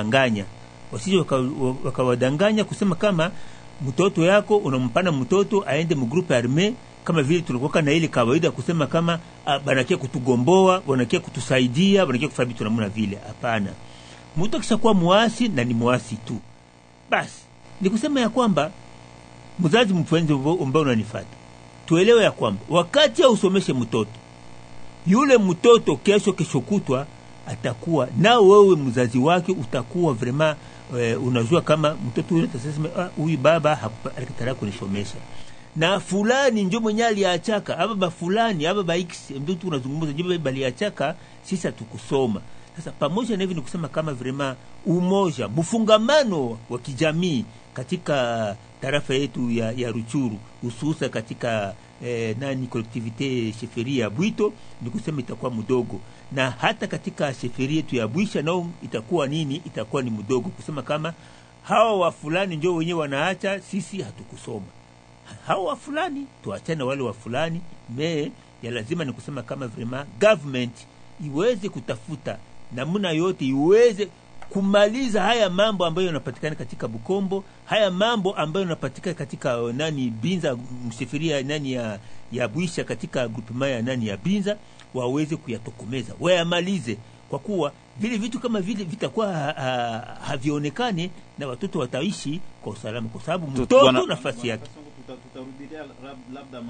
wakawadanganya kusema kama mtoto yako unampana mtoto aende mu groupe armé, kama vile tulikuwa na ile kawaida kusema kama banakia kutugomboa, banakia kutusaidia, banakia kufanya vitu namna vile. Hapana, mtu kishakuwa muasi na ni muasi tu basi. Ni kusema ya kwamba mzazi mpenzi ambao unanifuata, tuelewe ya kwamba wakati ya usomeshe mtoto, yule mtoto kesho kutwa atakuwa na wewe mzazi wake, utakuwa vraiment unajua kama mtoto yule atasema huyu baba alikataka kunisomesha na fulani ndio mwenye aliachaka, aba fulani aba x ndio tunazungumza, ndio bali achaka sisi hatukusoma. Sasa pamoja na hivi ni kusema kama vraiment umoja, mfungamano wa kijamii katika tarafa yetu ya Ruchuru, hususa katika collectivité sheferia ya Bwito, ni kusema itakuwa mdogo, na hata katika sheferia yetu ya Bwisha nao itakuwa itakuwa ni mdogo, kusema kama hawa wa fulani ndio wenyewe wanaacha, sisi hatukusoma. Hawa wa fulani tuachane, wale wa fulani ya lazima ni kusema kama vraiment government iweze kutafuta namna yote iweze kumaliza haya mambo ambayo yanapatikana katika Bukombo, haya mambo ambayo yanapatikana katika Binza, msheferia ya Bwisha, katika groupement ya Binza, waweze kuyatokomeza, wayamalize, kwa kuwa vile vitu kama vile vitakuwa havionekane na watoto wataishi kwa usalama, kwa sababu mtoto nafasi yake. Tutarudia labda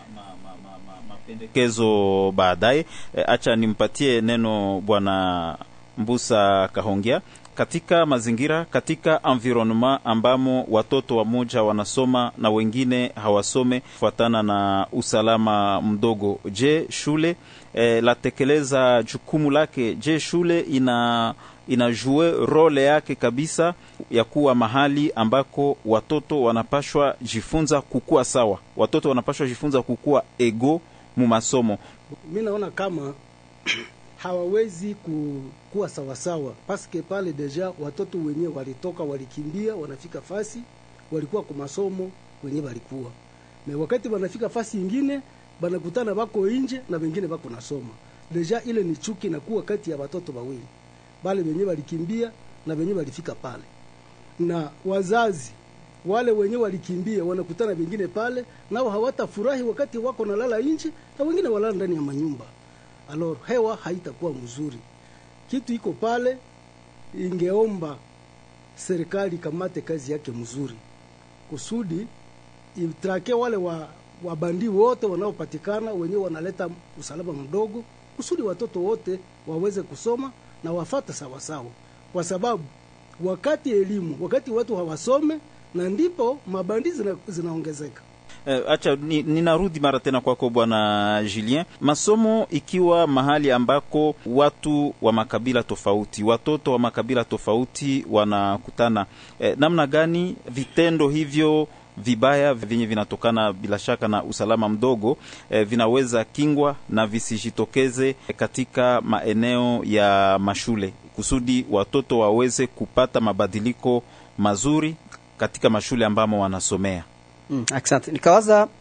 mapendekezo baadaye. Acha nimpatie neno Bwana Mbusa Kahongea. Katika mazingira, katika environment ambamo watoto wamoja wanasoma na wengine hawasome kufuatana na usalama mdogo, je, shule latekeleza jukumu lake? Je, shule inajue role yake kabisa ya kuwa mahali ambako watoto wanapashwa jifunza kukua sawa, watoto wanapashwa jifunza kukua ego mu masomo? Mimi naona kama hawawezi kuwa sawa sawa, paske pale deja watoto wenyewe walitoka, walikimbia, wanafika fasi walikuwa kwa masomo wenyewe walikuwa. Na wakati wanafika fasi nyingine banakutana bako nje na wengine bako nasoma. Deja ile ni chuki na kuwa kati ya watoto wawili. Bale wenyewe walikimbia na wenyewe walifika pale. Na wazazi wale wenyewe walikimbia wanakutana wengine pale, nao hawatafurahi wakati wako nalala nje na wengine walala ndani ya manyumba. Alors hewa haitakuwa mzuri. Kitu iko pale, ingeomba serikali kamate kazi yake mzuri, kusudi itrake wale wabandi wote wanaopatikana wenyewe wanaleta usalama mdogo, kusudi watoto wote waweze kusoma na wafata sawa sawa, kwa sababu wakati wakati watu hawasome na ndipo mabandi zinaongezeka. Acha ninarudi mara tena kwako Bwana Julien. Masomo ikiwa mahali ambako watu wa makabila tofauti, watoto wa makabila tofauti wanakutana, namna gani vitendo hivyo vibaya vyenye vinatokana bila shaka na usalama mdogo vinaweza kingwa na visijitokeze katika maeneo ya mashule, kusudi watoto waweze kupata mabadiliko mazuri katika mashule ambamo wanasomea? Asante. Nikawaza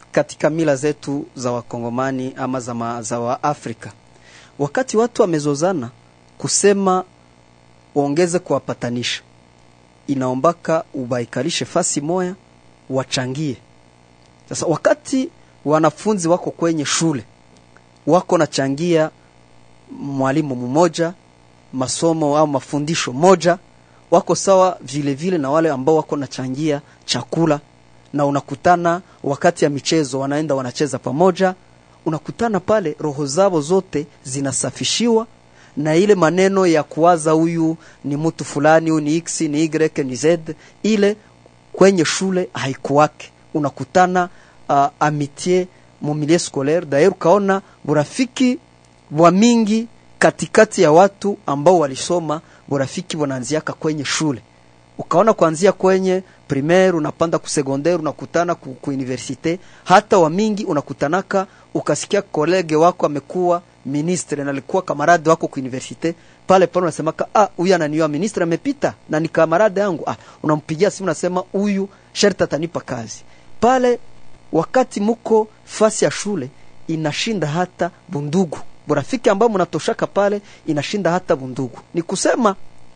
katika mila zetu za Wakongomani ama za wa Afrika, wakati watu wamezozana, kusema waongeze kuwapatanisha, inaombaka ubaikalishe fasi moya, wachangie. Sasa wakati wanafunzi wako kwenye shule, wako nachangia mwalimu mmoja, masomo au mafundisho moja, wako sawa vile vile na wale ambao wako nachangia chakula, na unakutana wakati ya michezo wanaenda wanacheza pamoja, unakutana pale roho zao zote zinasafishiwa, na ile maneno ya kuwaza huyu ni mtu fulani, huyu ni X, ni Y, ni Z, ile kwenye shule haikuwake. Unakutana amitié mu milieu scolaire. D'ailleurs kaona burafiki wa mingi katikati ya watu ambao walisoma, burafiki wanaanziaka kwenye shule. Ukaona kuanzia kwenye primaire unapanda ku secondaire, unakutana ku universite, hata wa mingi unakutanaka ukasikia kolege wako amekuwa ministre na alikuwa kamarade wako ku universite, pale unasemaka huyu ananiwa ministre amepita na ni kamarade yangu, unampigia simu unasema huyu sharti atanipa kazi. Pale wakati muko fasi ya shule inashinda hata bundugu, burafiki ambao mnatoshaka pale inashinda hata bundugu. Ni kusema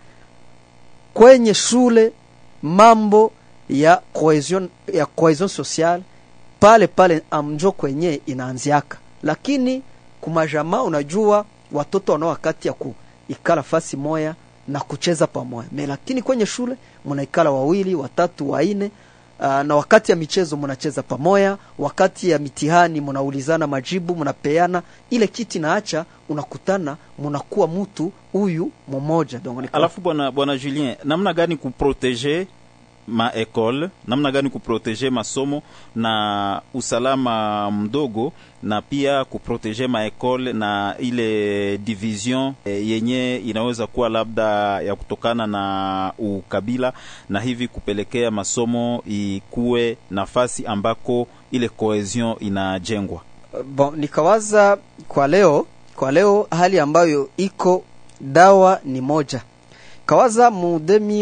kwenye shule mambo ya cohesion social pale amjo kwenye inaanziaka, lakini kumajamaa unajua watoto wana wakati ya kuikala fasi moya na kucheza pamoja. Lakini kwenye shule mnaikala wawili, watatu, waine, na wakati ya michezo mnacheza pamoja, wakati ya mitihani mnaulizana majibu, mnapeana ile kiti naacha, unakutana mnakuwa mtu huyu mmoja. Alafu bwana Julien, namna gani kuproteger ma école, namna gani kuproteger masomo na usalama mdogo, na pia kuproteger ma école na ile division yenye inaweza kuwa labda ya kutokana na ukabila, na hivi kupelekea masomo ikuwe nafasi ambako ile cohesion inajengwa? Nikawaza kwa leo hali ambayo iko dawa ni moja. Kawaza mu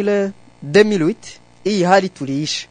2008 hii hali tuliishi.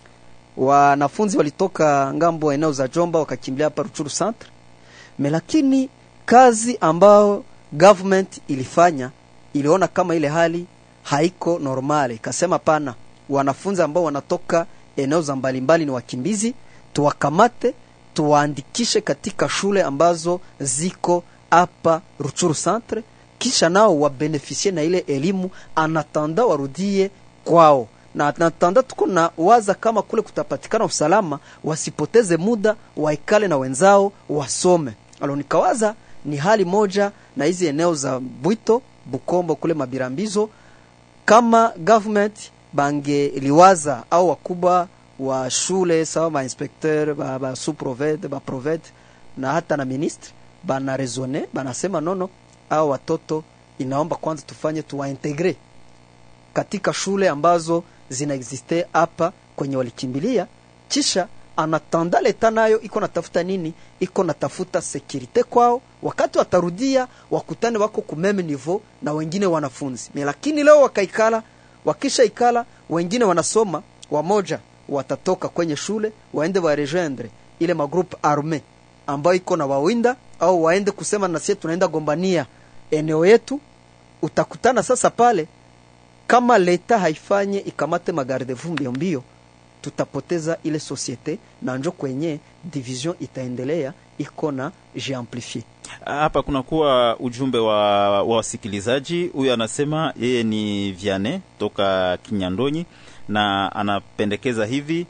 Wanafunzi walitoka ngambo eneo za Jomba wakakimbilia hapa Ruchuru Centre. Lakini kazi ambao government ilifanya, iliona kama ile hali haiko normale. Ikasema pana, wanafunzi ambao wanatoka eneo za mbalimbali ni wakimbizi, tuwakamate, tuwaandikishe katika shule ambazo ziko hapa Ruchuru Centre, kisha nao wabenefisie na ile elimu anatanda warudie kwao. Na natanda tuko na waza kama kule kutapatikana usalama, wasipoteze muda, waikale na wenzao wasome. Nikawaza ni hali moja na hizi eneo za Bwito, Bukombo kule Mabirambizo, kama government bange liwaza au wakubwa wa shule sawa ma inspecteur ba sous-proved ba proved na hata na ministre bana raisonner, banasema nono, au watoto inaomba kwanza tufanye tuwaintegre katika shule ambazo zinaexiste hapa kwenye walikimbilia, kisha anatanda leta nayo iko natafuta nini, iko natafuta securite kwao, wakati watarudia wakutane wako kumeme niveau na wengine wanafunzi. Lakini leo wakaikala, wakisha ikala wengine wanasoma, wamoja watatoka kwenye shule waende wa rejoindre ile magroupe armé ambayo iko na wawinda, au waende kusema na sisi tunaenda gombania eneo yetu. Utakutana sasa pale, kama leta haifanye ikamate magarde-fou mbio, tutapoteza ile societe na njo kwenye division itaendelea iko na jiamplifier. Hapa kuna kuwa ujumbe wa wasikilizaji. Huyu anasema yeye ni Vianney toka Kinyandonyi, na anapendekeza hivi: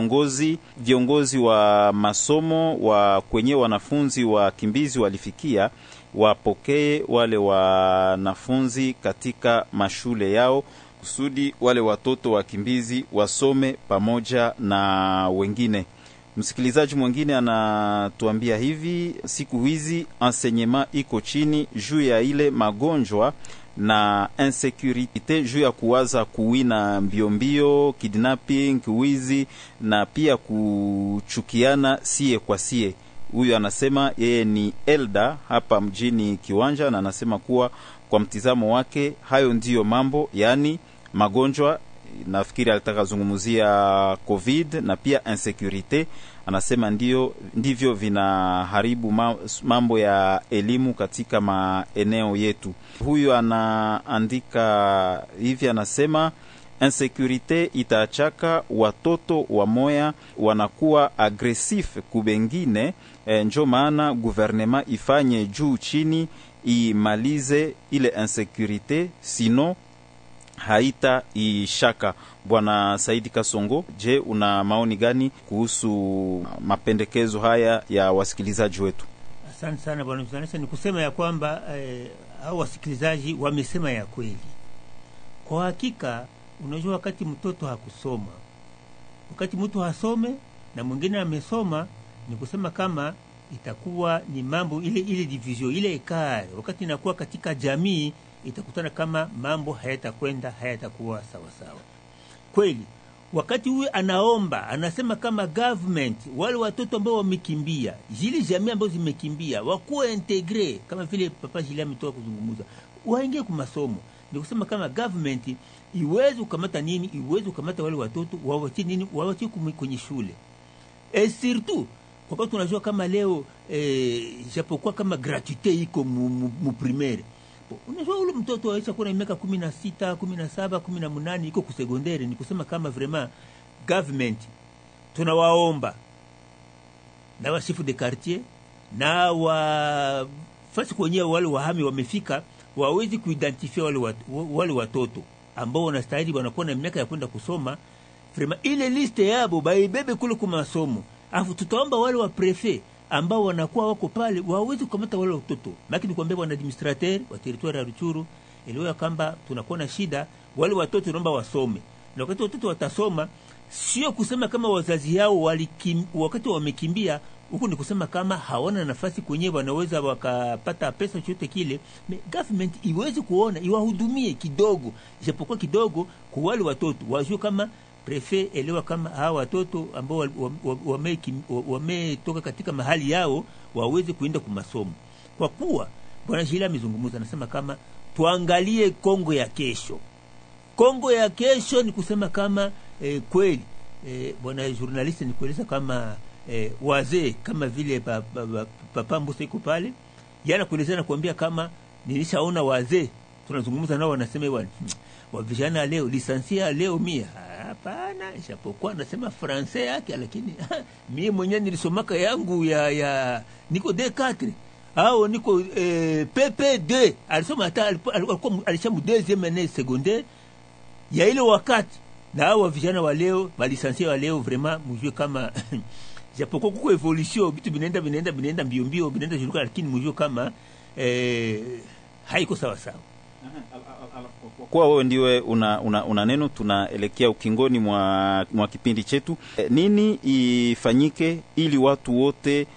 viongozi wa masomo wa kwenye wanafunzi wa kimbizi walifikia, wapokee wale wanafunzi katika mashule yao kusudi wale watoto wa kimbizi wasome pamoja na wengine. Msikilizaji mwingine anatuambia hivi: siku hizi enseignement iko chini juu ya ile magonjwa na insecurity, juu ya kuwaza kuwina mbio, kidnapping, wizi na pia kuchukiana sie kwa sie. Huyu anasema yeye ni Elda hapa mjini Kiwanja, na anasema kuwa kwa mtizamo wake hayo ndiyo mambo, yani magonjwa, nafikiri alitaka zungumzia COVID na pia insecurity, anasema ndivyo vinaharibu mambo ya elimu katika maeneo yetu. Huyu anaandika hivi, anasema insécurité itachaka watoto wa moya wanakuwa agresif kubengine, njo maana gouvernement ifanye juu chini imalize ile insécurité, sino haita ishaka. Bwana Saidi Kasongo, je, una maoni gani kuhusu mapendekezo haya ya wasikilizaji wetu? Asante sana bwana mzanesa. Ni kusema ya kwamba hao wasikilizaji wamesema ya kweli. Kwa hakika, unajua wakati mtoto hakusoma, wakati mtu hasome na mwingine amesoma, ni kusema kama itakuwa ni mambo ile division ile ekare, wakati inakuwa katika jamii itakutana kama mambo hayatakuwa sawa sawa. Kweli wakati huyu anaomba, anasema kama government wale watoto ambao wamekimbia, zile jamii ambazo zimekimbia wakuwa integre, kama vile papa Jila ametoka kuzungumza, waingie kwa masomo. Ni kusema kama government iweze kukamata nini, iweze kukamata wale watoto wawache nini, wawache kwenye shule. Surtout kwa sababu tunajua kama leo japokuwa kama gratuite iko mu primaire, unajua ule mtoto aisha kuna miaka 16, 17, 18 iko ku secondaire. Ni kusema kama vraiment government tunawaomba na wa chef de quartier na wa fasi kwenye wale wahami wamefika, wawezi kuidentify wale watoto ambao wanastahili wanakuwa na miaka ya kwenda kusoma. Vraiment ile liste yabo baibebe kule kwa masomo, afu tutaomba wale wa prefet ambao wanakuwa wako pale waweze kukamata wale watoto. Lakini kuambia bwana administrateur wa territoire ya Ruchuru elewa kamba tunakuwa na shida, wale watoto tunaomba wasome. Na wakati watoto watasoma, sio kusema kama wazazi yao wakati wamekimbia huko, ni kusema kama hawana nafasi kwenye wanaweza wakapata pesa chochote kile. Government iweze kuona iwahudumie kidogo, japokuwa kidogo, kwa wale watoto wajue kama prefet elewa kama hawa watoto ambao wametoka katika mahali yao waweze kuenda kwa masomo. Kwa kuwa bwana Jila amezungumza, anasema kama tuangalie Kongo ya kesho. Kongo ya kesho ni kusema kama kweli bwana journalist ni kueleza kama wazee kama vile papa Mbusa iko pale, yana kueleza na kuambia kama nilishaona wazee tunazungumza nao, wanasema bwana wa vijana leo lisansia leo mia hapana, japokuwa nasema francais yake, lakini mimi mwenyewe nilisomaka yangu ya niko D4 au niko PP2, alisoma hata alikuwa alishamu deuxième année secondaire ya ile wakati. Na hao vijana wa leo balisansia wa leo vraiment mjue kama japokuwa kuko evolution, vitu vinaenda mbio vinaenda juruka, lakini mjue kama haiko sawa sawa. Kwa wewe ndiwe una neno, tunaelekea ukingoni mwa kipindi chetu. Nini ifanyike ili watu wote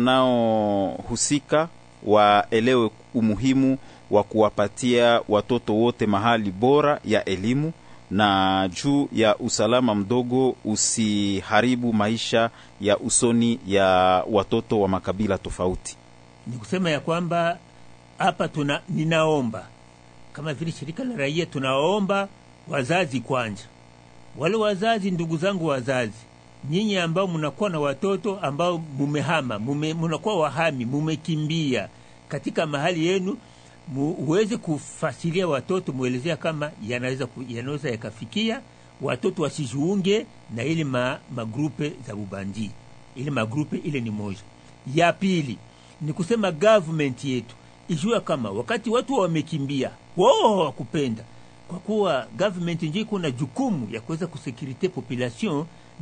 wanaohusika waelewe umuhimu wa kuwapatia watoto wote mahali bora ya elimu na juu ya usalama mdogo usiharibu maisha ya usoni ya watoto wa makabila tofauti? Ni kusema ya kwamba hapa ninaomba kama vile shirika la raia, tunaomba wazazi kwanza. Wale wazazi, ndugu zangu wazazi, nyinyi ambao mnakuwa na watoto ambao mumehama, mnakuwa wahami, mumekimbia katika mahali yenu, uweze kufasilia watoto, muelezea kama yanaweza yakafikia watoto wasijiunge na ile magrupe za ubandi. Ile magrupe ile ni moja. Ya pili ni kusema government yetu ijua kama wakati watu wamekimbia wao hawakupenda, kwa kuwa government ndio kuna jukumu ya kuweza kusekirite population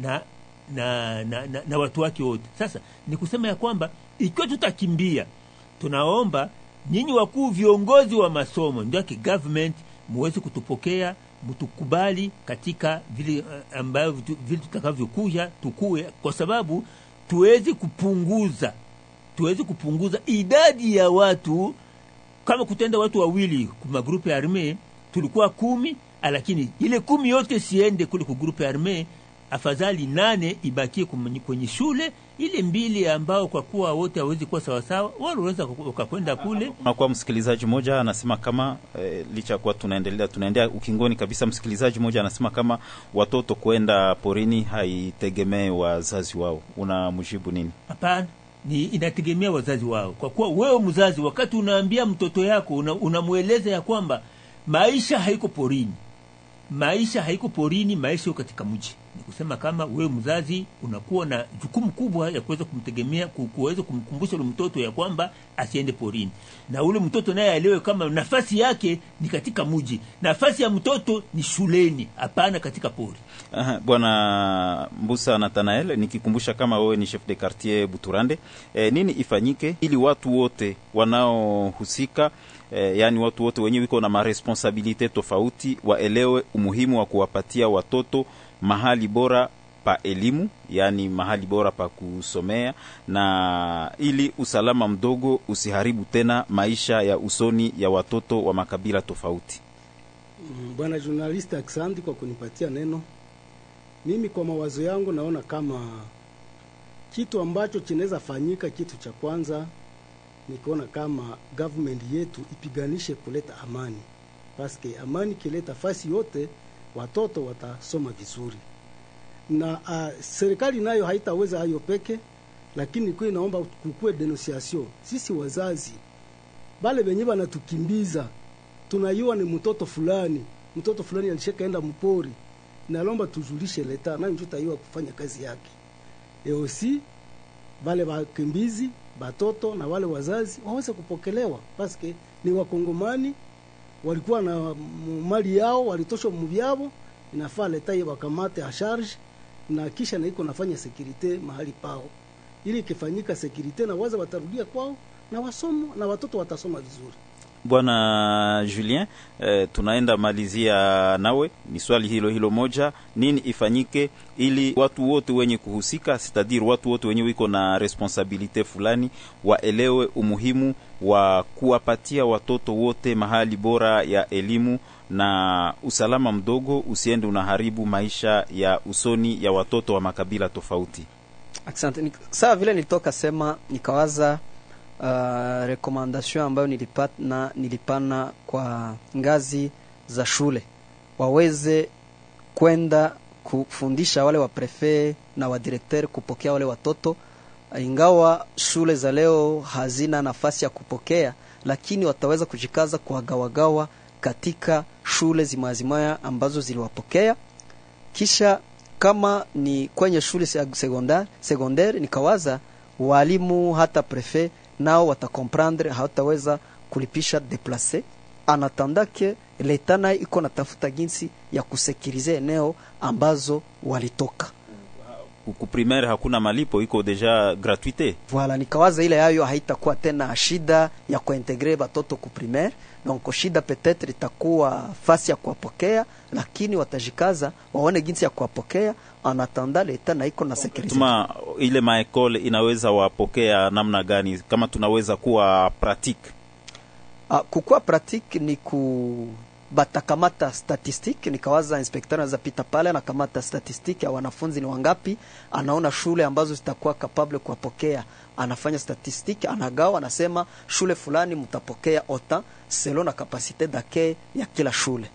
na watu wake wote. Sasa ni kusema ya kwamba ikiwa tutakimbia, tunaomba nyinyi wakuu viongozi wa masomo ndio government muweze kutupokea, mtukubali katika vile ambayo vile tutakavyokuja tukue, kwa sababu tuweze kupunguza idadi ya watu. Kama kutenda watu wawili kwa grupe arme tulikuwa 10, lakini ile 10 yote siende kule kwa grupe arme, afadhali 8 ibakie kwenye shule ile 2 ambao kwa kuwa wote hawezi kuwa sawa sawa, wao waweza kwenda kule. Kwa msikilizaji mmoja anasema kama licha kwa tunaendelea ukingoni kabisa, msikilizaji mmoja anasema kama watoto kwenda porini haitegemee wazazi wao. Unamjibu nini? Hapana, ni inategemea wazazi wao, kwa kuwa wewe mzazi wakati unaambia mtoto yako unamueleza ya kwamba maisha haiko porini, maisha iko katika mji. Ni kusema kama wewe mzazi unakuwa na jukumu kubwa ya kuweza kumtegemea, kuweza kumkumbusha ule mtoto ya kwamba asiende porini, na ule mtoto naye aelewe kama nafasi yake ni katika mji, nafasi ya mtoto ni shuleni, hapana katika pori. Bwana Mbusa Nathanael, nikikumbusha kama wewe ni chef de quartier Buturande, nini ifanyike ili watu wote wanaohusika, yani watu wote wenyewe wiko na maresponsabilite tofauti, waelewe umuhimu wa kuwapatia watoto mahali bora pa elimu, yani mahali bora pa kusomea, na ili usalama mdogo usiharibu tena maisha ya usoni ya watoto wa makabila tofauti. Bwana journalist, asante kwa kunipatia neno. Mimi kwa mawazo yangu naona kama kitu ambacho kinaweza fanyika, kitu cha kwanza ni kuona kama government yetu ipiganishe kuleta amani, paske amani kileta fasi yote watoto watasoma vizuri. Na serikali nayo haitaweza hayo peke, lakini kwa inaomba kukue denunciation. Sisi wazazi bale benye banatukimbiza, tunayua ni mtoto fulani alishakaenda mpori, na lomba tujulishe leta na ndio tayua kufanya kazi yake. Aussi bale bakimbizi batoto na wale wazazi waweze kupokelewa, paske ni wakongomani, walikuwa na mali yao, walitosha muvyabo, inafaa leta wakamate a charge, na kisha na iko nafanya security mahali pao, ili kifanyika security na waza watarudia kwao na wasomo na watoto watasoma vizuri. Bwana Julien, tunaenda malizia nawe, ni swali hilo moja, nini ifanyike ili watu wote wenye kuhusika, c'est-à-dire watu wote wenye wiko na responsabilite fulani, waelewe umuhimu wa kuwapatia watoto wote mahali bora ya elimu, na usalama mdogo usiende unaharibu maisha ya usoni ya watoto wa makabila tofauti. Asante. Sawa vile nilitoka sema, nikawaza recommendation ambayo nilipana kwa ngazi za shule, waweze kwenda kufundisha wale wa prefet na wa directeur kupokea wale watoto. Ingawa shule za leo hazina nafasi ya kupokea, lakini wataweza kujikaza kuwagawagawa katika shule zimazimaya ambazo ziliwapokea. Kisha kama ni kwenye shule secondaire, nikawaza walimu hata prefet nao watakomprendre, hataweza kulipisha deplacer anatandake letana iko natafuta jinsi ya kusekirize eneo ambazo walitoka. Ku primaire hakuna malipo, iko deja gratuité. Voilà, nikawaza ile yayo haitakuwa tena shida ya kuintegrer batoto ku primaire. Donc shida peut-être itakuwa fasi ya kuwapokea, lakini watajikaza waone jinsi ya kuwapokea anatanda leta na iko na security. Tuma ile maekole inaweza wapokea namna gani, kama tunaweza kuwa pratique? Kukua pratique ni batakamata statistique. Nikawaza inspector anaweza pita pale na kamata statistique ya wanafunzi ni wangapi, anaona shule ambazo zitakuwa capable kuwapokea, anafanya statistique, anagawa, anasema shule fulani mtapokea ota selon na capacité d'accueil ya kila shule.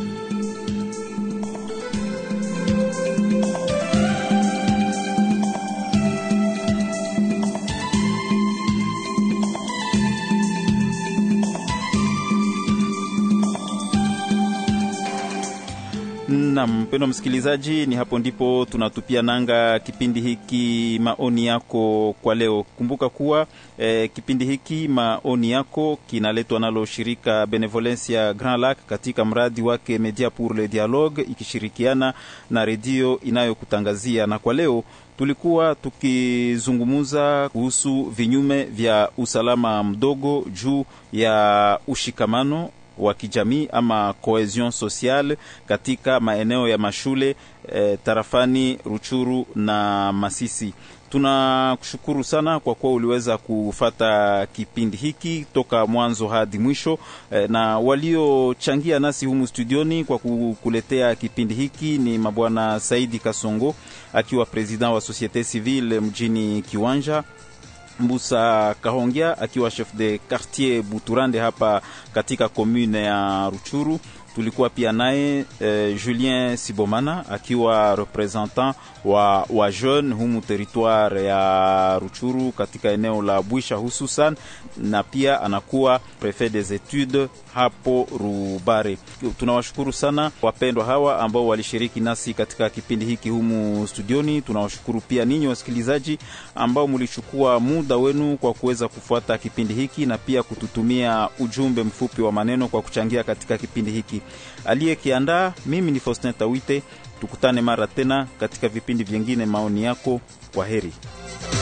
Na mpendo msikilizaji, ni hapo ndipo tunatupia nanga kipindi hiki maoni yako kwa leo. Kumbuka kuwa kipindi hiki maoni yako kinaletwa nalo shirika Benevolencia Grand Lac katika mradi wake Media pour le Dialogue, ikishirikiana na redio inayokutangazia. Na kwa leo tulikuwa tukizungumuza kuhusu vinyume vya usalama mdogo juu ya ushikamano wa kijamii ama cohesion sociale katika maeneo ya mashule tarafani Ruchuru na Masisi. Tunakushukuru sana kwa kuwa uliweza kufata kipindi hiki toka mwanzo hadi mwisho, na waliochangia nasi humu studioni kwa kukuletea kipindi hiki ni mabwana Saidi Kasongo akiwa president wa Societe Civile mjini Kiwanja, Mbusa Kahongia akiwa chef de quartier Buturande hapa katika commune ya Ruchuru. Tulikuwa pia naye Julien Sibomana akiwa representant wa jeune humu territoire ya Ruchuru katika eneo la Bwisha hususan, na pia anakuwa prefet des études hapo Rubare. Tunawashukuru sana wapendwa hawa ambao walishiriki nasi katika kipindi hiki humu studioni. Tunawashukuru pia ninyi wasikilizaji ambao mlichukua muda wenu kwa kuweza kufuata kipindi hiki na pia kututumia ujumbe mfupi wa maneno kwa kuchangia katika kipindi hiki. Aliyekiandaa mimi ni Faustin Tawite. Tukutane mara tena katika vipindi vingine. Maoni yako, kwa heri.